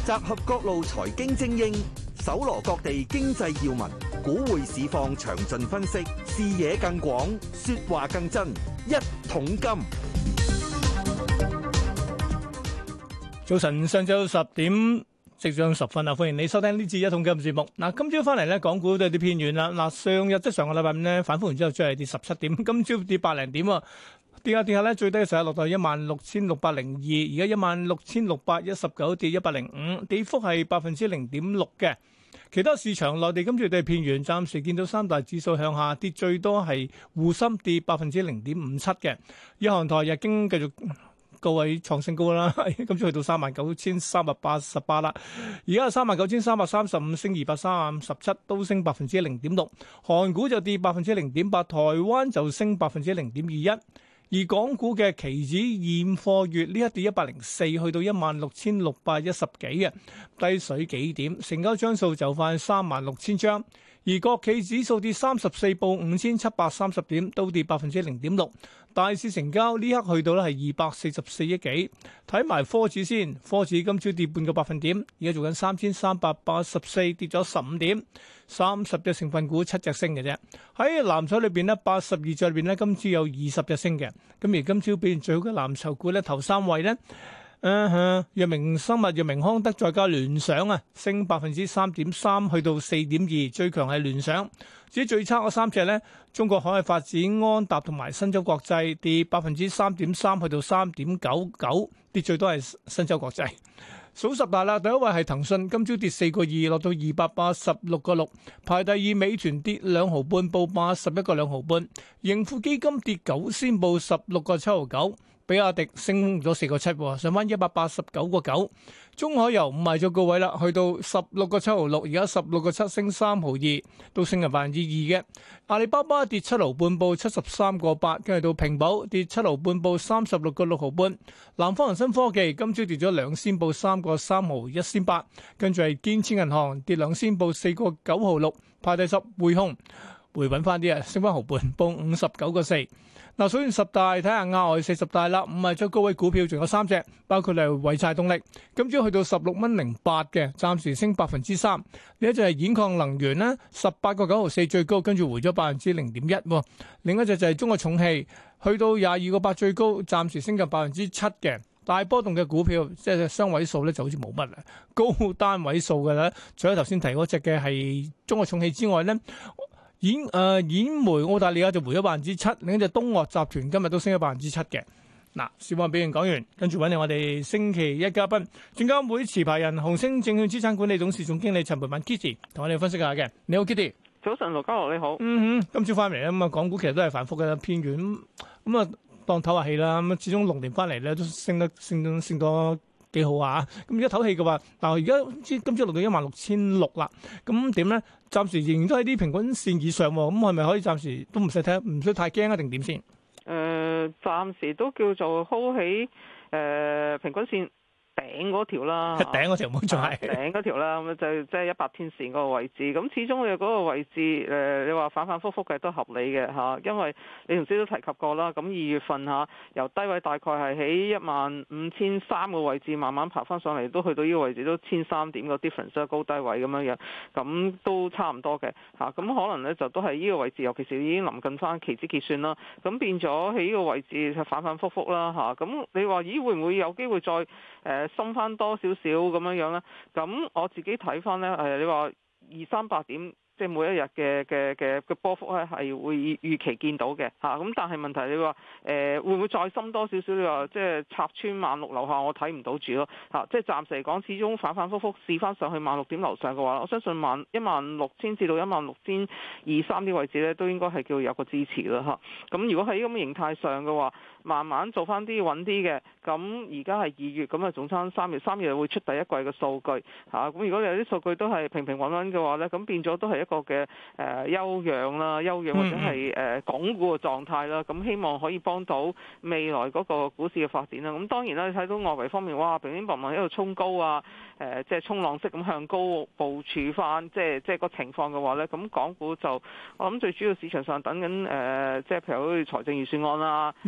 集合各路財經精英，搜羅各地經濟要聞，股匯市況詳盡分析，視野更廣，說話更真。一桶金。 早晨，上晝10點即將10分啊！歡迎你收聽呢次一桶金節目。嗱，今朝翻嚟咧，港股都有啲偏軟啦。嗱，上個禮拜五咧反覆完之後，再係跌17點，今朝跌8零點啊！跌下咧，最低嘅時候落到16,602，而家16,619，跌105，跌幅係0.6%嘅。其他市場內地今朝都係偏軟，暫時見到三大指數向下跌，最多係滬深跌0.57%嘅。日韓台日經繼續高位創新高啦，今朝去到39,388啦，而家係39,335，升237，都升0.6%。韓股就跌0.8%，台灣就升0.21%。而港股嘅期指現貨月呢一跌104，去到16,610幾嘅，低水幾點，成交張數就快36,000張。而國企指數跌34，報5,730點，都跌0.6%。大市成交呢刻去到咧係244億幾。睇埋科指先，科指今朝跌半個百分點，而家做緊3,384，跌咗15點。30隻成分股7隻升嘅啫。喺藍籌裏邊呢，82隻裏邊呢，今朝有20隻升嘅。咁而今朝表現最好嘅藍籌股咧，頭三位呢，藥明生物、藥明康德再加聯想啊，升3.3%，去到4.2，最強係聯想。至於最差嗰三隻咧，中國海外發展、安踏同埋新洲國際跌3.3%，去到3.99，跌最多係新洲國際。數十大啦，第一位係騰訊，今朝跌4個2，落到286個6。排第二，美團跌2毫半，報81個2毫半。盈富基金跌9仙，報16個7毫9。比亞迪升咗4個7，上翻189個9。中海油唔係咗高位啦，去到16個7毫6，而家16個7，升3毫2，都升近2%嘅。阿里巴巴跌7毫半，報73個8，跟住到平保跌7毫半，報36個6毫半。南方恒生科技今朝跌咗2仙，報3個3毫1仙8，跟住係建設銀行跌2仙，報4個9毫6。排第10，匯控回穩翻啲啊，升翻毫半，報59個4。嗱，數完十大，睇下額外40大啦。唔係最高位股票，仲有3隻，包括係濰柴動力，今朝去到16.08嘅，暫時升3%。呢一隻係兗礦能源咧，18個9毫4最高，跟住回咗0.1%。另一隻就係中國重汽，去到22個8最高，暫時升近7%嘅。大波動嘅股票，即係雙位數咧，就好似冇乜啦。高單位數嘅咧，除咗頭先提嗰隻嘅係中國重汽之外咧。兗煤澳大利亞就回咗7%，另一隻東岳集團今日都升咗7%嘅。嗱，小網表現講完，跟住揾嚟我哋星期一嘉賓，證監會持牌人紅星證券資產管理董事總經理陳蓓敏 Kitty 同我哋分析下嘅。你好 Kitty， 早晨盧家樂你好。 今朝翻嚟咧，咁啊港股其實都係反覆嘅偏軟，咁啊當唞下氣啦。咁始終龍年翻嚟咧都升多幾好啊！咁而家唞氣嘅話，嗱而家今朝落到16,600啦，咁點咧？暫時仍然都喺啲平均線以上喎，咁係咪可以暫時都唔使睇，唔需太驚啊？定點先？ 暫時都叫做 hold 起平均線頂嗰條啦， 頂嗰條冇錯係頂嗰條啦，咁就即係100天線嗰個位置。咁始終你嗰個位置你話反反覆覆嘅都合理嘅嚇，因為你頭先都提及過啦。咁2月份嚇由低位大概係喺15,300個位置慢慢爬翻上嚟，都去到呢個位置都1,300點個 difference 高低位咁樣樣，咁都差唔多嘅嚇。咁可能咧就都係呢個位置，尤其是已經臨近翻期指結算啦，咁變咗喺呢個位置就反反覆覆啦嚇。咁你話咦會唔會有機會再深翻多少少咁樣樣咧？咁我自己睇翻咧，你話200-300點，即係每一日嘅波幅咧，係會預期見到嘅嚇。咁但係問題你話會唔會再深多少少？你話即係插穿16,000樓下，我睇唔到住咯嚇。即係暫時嚟講，始終反反覆覆試翻上去16,000點樓上嘅話，我相信16,000至到16,200-3啲位置咧，都應該係叫有個支持啦嚇。咁如果喺咁嘅形態上嘅話，慢慢做翻啲穩啲嘅，咁而家係2月，咁啊總差3月會出第一季嘅數據嚇。咁如果有啲數據都係平平穩穩嘅話咧，咁變咗都係一個嘅休養或者係鞏固嘅狀態啦。咁希望可以幫到未來嗰個股市嘅發展啦。咁當然啦，你睇到外圍方面，哇，乒乒乓乓喺度衝高啊，即係衝浪式咁向高部署翻，即係個情況嘅話咧，咁港股就我諗最主要市場上等緊即係譬如好似財政預算案啦， 呢個禮拜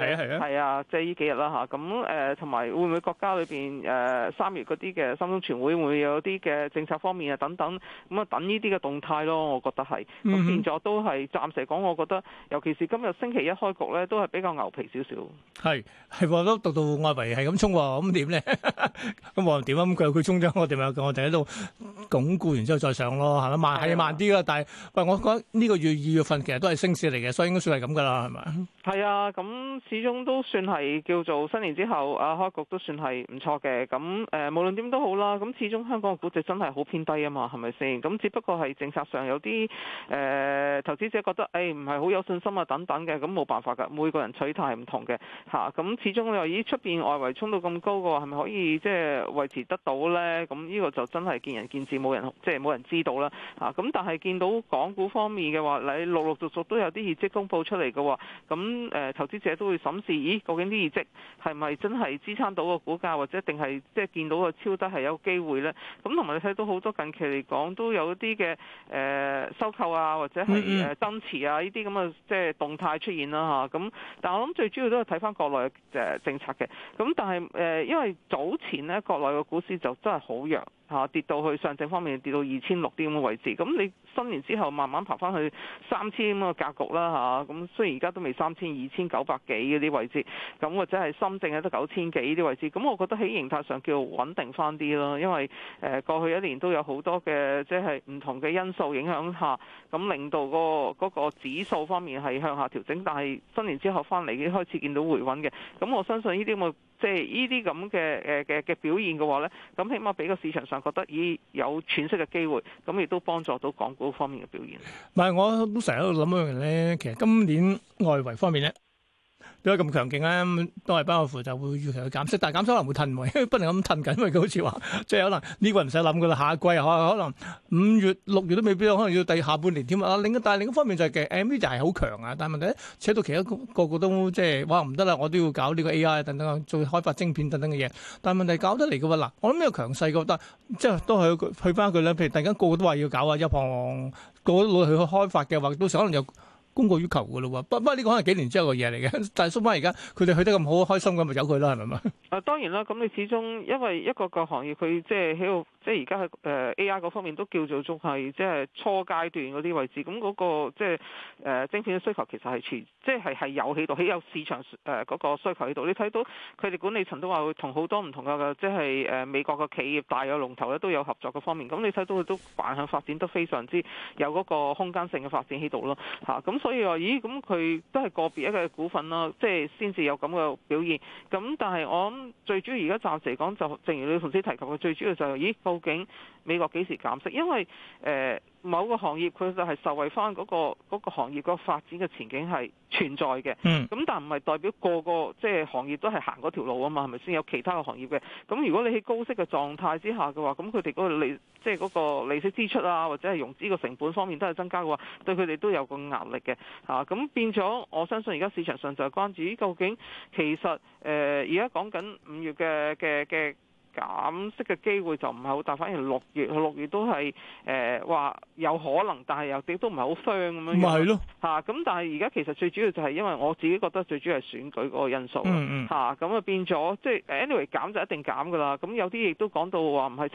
係啊，即係呢幾日啦嚇。咁同埋會唔會國家裏邊3月嗰啲嘅三中全會會有啲嘅政策方面啊等等，咁啊等呢啲嘅動態咯，我覺得係。咁變咗都係暫時嚟講，我覺得尤其是今日星期一開局咧，都係比較牛皮少少。 係喎，都讀到外圍係咁衝喎，咁點咧？咁我點啊？咁佢衝咗，我哋喺度鞏固完之後再上咯，係咪慢啲啦？但係喂，我覺得呢個月2月份其實都係升市嚟嘅，所以應該算係咁噶啦，係咪？ 係啊，咁始終都算係叫做新年之後開局都算係唔錯嘅。咁無論點都好啦，咁始終香港嘅估值真係好偏低啊嘛，係咪先？咁只不過係政策上有啲投資者覺得唔係好有信心啊等等嘅，咁冇辦法㗎，每個人取態唔同嘅嚇。咁始終你話咦出邊外圍衝到咁高嘅話，係咪可以即係維持得到咧？咁呢個就真係見仁見智，冇人知道啦嚇。咁但係見到港股方面嘅話，你陸續都有啲業績公佈出嚟嘅話，咁投資者都會審視，咦究竟啲業績係咪真係支撐到個股價，或者定係即係見到個超低係有機會咧？咁同埋你睇到好多近期嚟講都有一啲嘅收購啊，或者係增持啊呢啲咁嘅即係動態出現啦嚇。咁但係我諗最主要都係睇翻國內嘅政策嘅。咁但係因為早前咧國內嘅股市就真係好弱。跌到去上證方面跌到2600啲咁嘅位置，咁你新年之後慢慢爬翻去3000咁嘅格局啦嚇，咁雖然而家都未3000、2900幾嗰啲位置，咁或者係深證得9000幾呢啲位置，咁我覺得喺形態上叫穩定翻啲咯，因為過去一年都有好多嘅即係唔同嘅因素影響下，咁令到嗰個指數方面係向下調整，但係新年之後翻嚟已經開始見到回穩嘅，咁我相信呢啲咁嘅即係呢啲咁嘅表現嘅話咧，咁起碼俾個市場上覺得有喘息嘅機會，咁亦都幫助到港股方面嘅表現。 唔係，我都成日喺度諗一樣嘢咧，其實今年外圍方面咧。點解咁強勁咧？都係不外乎就會預期佢減息，但係減息可能會褪喎，因為不能咁褪緊，因為佢好似話，即係可能呢個唔使諗噶啦，下一季可能5月、6月都未必，可能要第下半年添啊。但係另一方面就係嘅 NVIDIA 就係好強啊，但係問題咧，扯到其他個個都即係哇唔得啦，我都要搞呢個 AI 等等，做開發晶片等等嘅嘢。但係問題搞得嚟嘅喎嗱，我諗呢個強勢覺得即係都係去翻佢咧。譬如突然間個個都話要搞啊，一行個個都努力去開發嘅話，到時可能有。供過於求嘅咯喎，不過呢個可能幾年之後嘅嘢嚟嘅，但係縮翻而家佢哋去得咁好開心咁，咪由佢啦，係咪嘛？ 當然啦，咁你始終因為一個行業佢即係喺度，即係而家喺AI 嗰方面都叫做仲係即係初階段嗰啲位置，咁嗰個即係晶片嘅需求其實係即係有喺度，喺有市場嗰個需求喺度。你睇到佢哋管理層都話會同好多唔同嘅即係美國嘅企業大有龍頭咧都有合作嘅方面，咁你睇到佢都橫向發展得非常之有嗰個空間性嘅發展喺度咯嚇，咁所以話咦咁佢都係個別一個股份啦，即係先至有咁嘅表現。咁但係我諗最主要而家暫時嚟講，就正如你頭先提及嘅，最主要就係咦究竟美國幾時減息？因為某個行業佢就係受惠翻嗰個行業個發展嘅前景係存在嘅。咁但唔係代表個個即係行業都係行嗰條路啊嘛，係咪先？有其他嘅行業嘅。咁如果你喺高息嘅狀態之下嘅話，咁佢哋嗰個即係嗰個利息支出啊，或者係融資個成本方面都係增加嘅話，對佢哋都有個壓力嘅嚇。咁變咗，我相信而家市場上就係關注究竟其實而家講緊5月嘅減息嘅機會就唔係好大，反而6月都係話有可能，但係又亦都唔係好 firm 咁樣。咪係咯嚇，咁但係而家其實最主要就係因為我自己覺得最主要係選舉嗰個因素嚇，咁啊變咗即係 anyway 減就一定減㗎啦。咁有啲亦都講到話唔係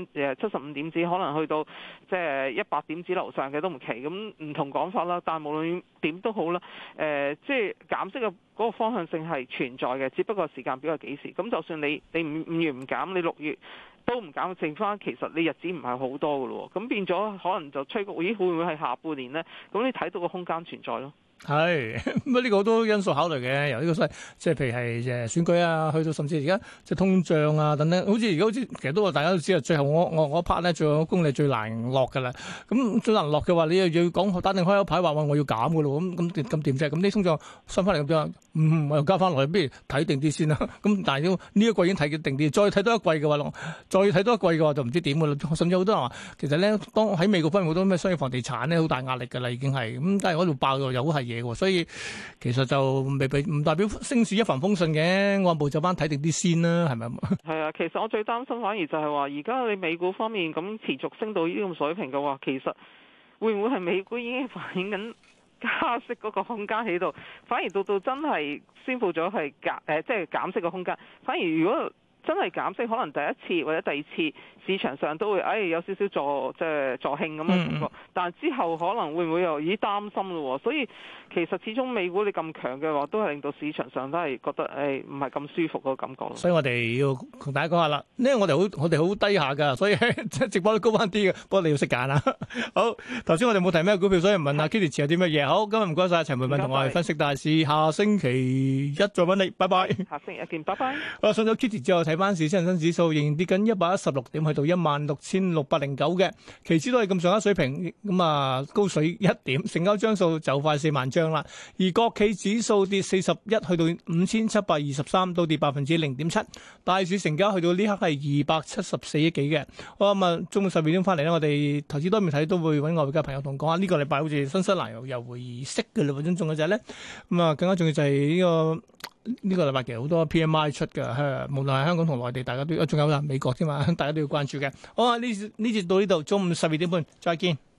75點子，可能去到即係100點子樓上嘅都唔奇。咁唔同講法啦，但係無論點都好啦，即係減息嘅嗰個方向性係存在嘅，只不過時間表係幾時。咁就算你5月唔減，你6月都唔減，剩翻其實你日子唔係好多㗎咯。咁變咗可能就吹谷，咦會唔會係下半年呢？咁你睇到個空間存在咯。 係咁啊！呢個好多因素考慮嘅，由呢個即係譬如係選舉啊，去到甚至而家即係通脹啊等等，好似其實都話大家都知啊。最後我 part 咧，最後功力最難落㗎啦。咁最難落嘅話，你又要講打定開口牌話我要減㗎咯。咁點啫？咁啲通脹升翻嚟咁樣，我又加翻落去，不如睇定啲先啦。咁但係呢一季已經睇定啲，再睇多一季嘅話，再睇多一季嘅話就唔知點㗎啦。甚至好多人話，其實咧當喺美國方面好多咩商業房地產咧好大壓力㗎啦，已經係咁，但係嗰度爆又好係。所以其實就唔代表升市一帆風順嘅，按部就班睇定啲先啦，係咪？ 係啊，其實我最擔心反而就係話，而家你美股方面咁持續升到呢啲咁水平嘅話，其實會唔會係美股已經反映緊加息嗰個空間喺度，反而到真係宣佈咗係即係減息嘅空間，反而如果真係減息，可能第一次或者第二次市場上都會有少少助興咁嘅感覺，但係之後可能會唔會又擔心咯？所以其實始終美股你咁強嘅話，都係令到市場上都係覺得唔係咁舒服嗰個感覺。 所以我哋要同大家講下啦，因為我哋好低下㗎，所以直播都高翻啲嘅，不過你要識揀啦。好，頭先我哋冇提咩股票，所以問下 Kitty 持有啲乜嘢。好，今日唔該晒陳蓓敏同我哋分析大市，下星期一再揾你，拜拜。 下星期一見，拜拜。 好，上咗 Kitty 之後睇翻市，恒生指數仍然跌緊116點，去到16,609嘅，期指都係咁上下水平，咁啊高水1點，成交張數就快4萬張啦。而國企指數跌41，去到5,723，都跌0.7%。大市成交去到呢刻係274億幾嘅。好，咁啊，中午12點翻嚟咧，我哋投資多面睇都會揾外匯嘅朋友同講下，呢個禮拜好似新西蘭又會議息嘅啦，仲有就係咧，咁啊更加重要就係呢個禮拜其實好多 PMI 出嘅，無論係香港同內地，大家都仲有美國添嘛，大家都要關注嘅。好啊，呢節到呢度，中午12點半再見。